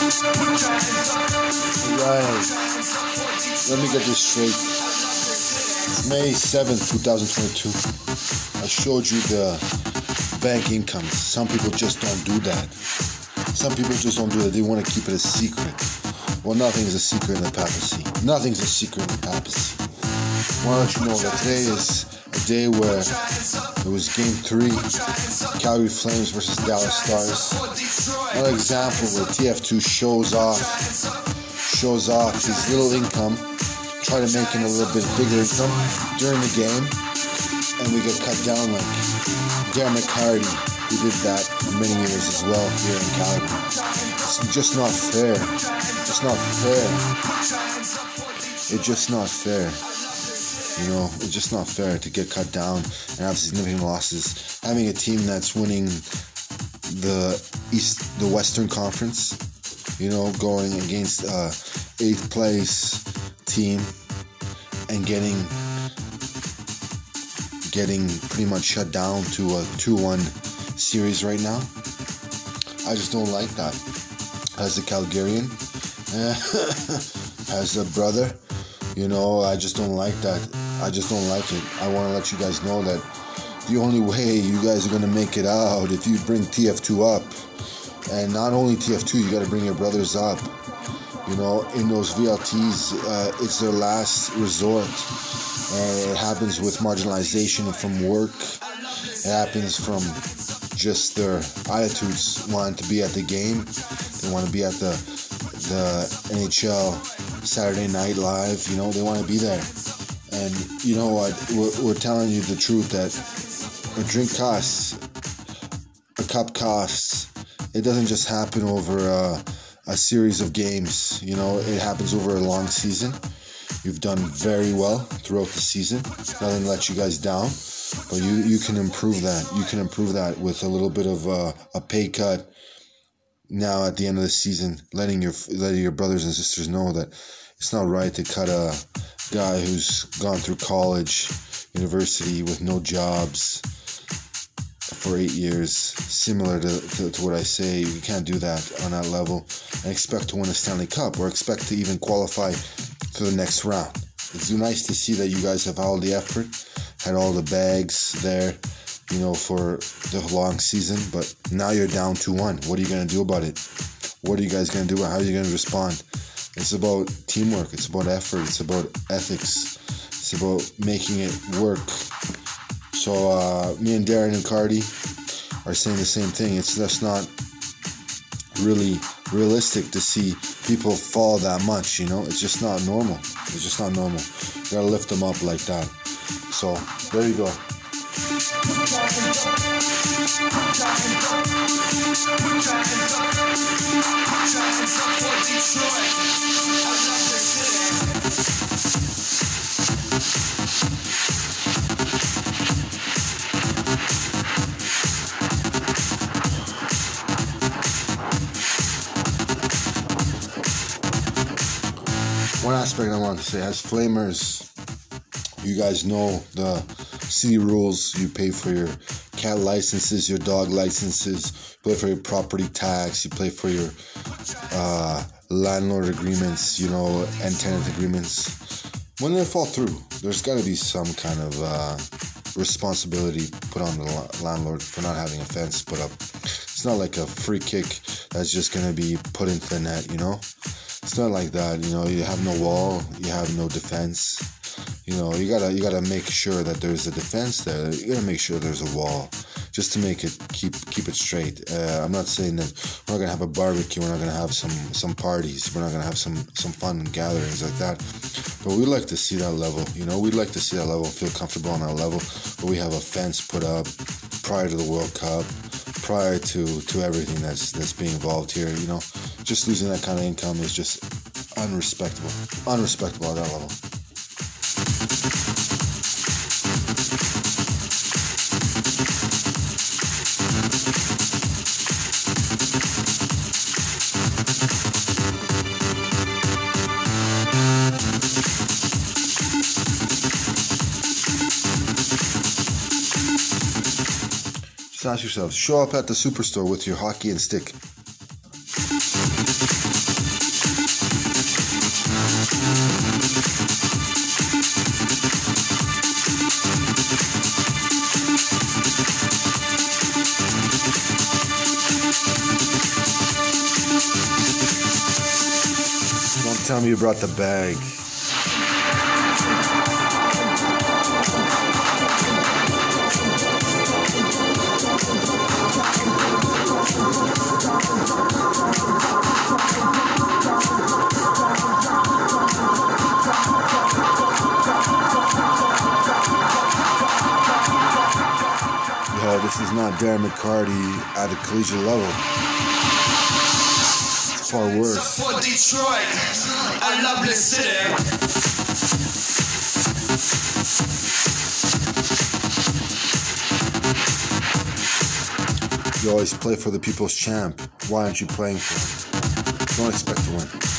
Alright, let me get this straight. It's May 7th, 2022. I showed you the bank incomes. Some people just don't do that. Some people just don't do it. They want to keep it a secret. Well, nothing's a secret in the papacy. Nothing's a secret in the papacy. I want to let you know that today is a day where it was Game 3, Calgary Flames versus Dallas Stars. Another example where TF2 shows off his little income, try to make him a little bit bigger income during the game, and we get cut down like Darren McCarty, who did that for many years as well here in Calgary. It's just not fair. It's not fair. It's just not fair. You know, it's just not fair to get cut down and have significant losses. Having a team that's winning the Western Conference, you know, going against 8th place team and getting pretty much shut down to a 2-1 series right now. I just don't like that. As a Calgarian, as a brother, you know, I just don't like that. I just don't like it. I want to let you guys know that the only way you guys are going to make it out if you bring TF2 up. And not only TF2, you got to bring your brothers up. You know, in those VLTs, it's their last resort. And it happens with marginalization from work. It happens from just their attitudes wanting to be at the game. They want to be at the NHL Saturday Night Live. You know, they want to be there. And you know what? We're telling you the truth that a drink costs, a cup costs. It doesn't just happen over a series of games. You know, it happens over a long season. You've done very well throughout the season. Nothing let you guys down, but you can improve that. You can improve that with a little bit of a pay cut. Now at the end of the season, letting your brothers and sisters know that it's not right to cut a guy who's gone through college, university with no jobs for 8 years. Similar to what I say, you can't do that on that level and expect to win a Stanley Cup or expect to even qualify for the next round. It's nice to see that you guys have all the effort, had all the bags there, you know, for the long season, but now you're down 2-1. What are you going to do about it? What are you guys going to do? How are you going to respond? It's about teamwork. It's about effort. It's about ethics. It's about making it work. So me and Darren and Cardi are saying the same thing. It's just not really realistic to see people fall that much, you know? It's just not normal. It's just not normal. You gotta lift them up like that. So, there you go. One aspect I want to say, as Flamers, you guys know the city rules. You pay for your cat licenses, your dog licenses, you pay for your property tax, you pay for your landlord agreements, you know, and tenant agreements. When they fall through, there's got to be some kind of responsibility put on the landlord for not having a fence put up. It's not like a free kick that's just going to be put into the net, you know? It's not like that, you know. You have no wall, you have no defense. You know, you gotta make sure that there's a defense there. You gotta make sure there's a wall, just to make it keep it straight. I'm not saying that we're not gonna have a barbecue, we're not gonna have some parties, we're not gonna have some fun and gatherings like that. But we'd like to see that level, you know. We'd like to see that level, feel comfortable on that level, where we have a fence put up prior to the World Cup, prior to everything that's being involved here, you know. Just losing that kind of income is just unrespectable at that level. Just ask yourself, show up at the Superstore with your hockey and stick. tell me you brought the bag. Yo, this is not Darren McCarty at a collegiate level. It's far worse. For Detroit, a lovely city. You always play for the people's champ. Why aren't you playing for him? Don't expect to win.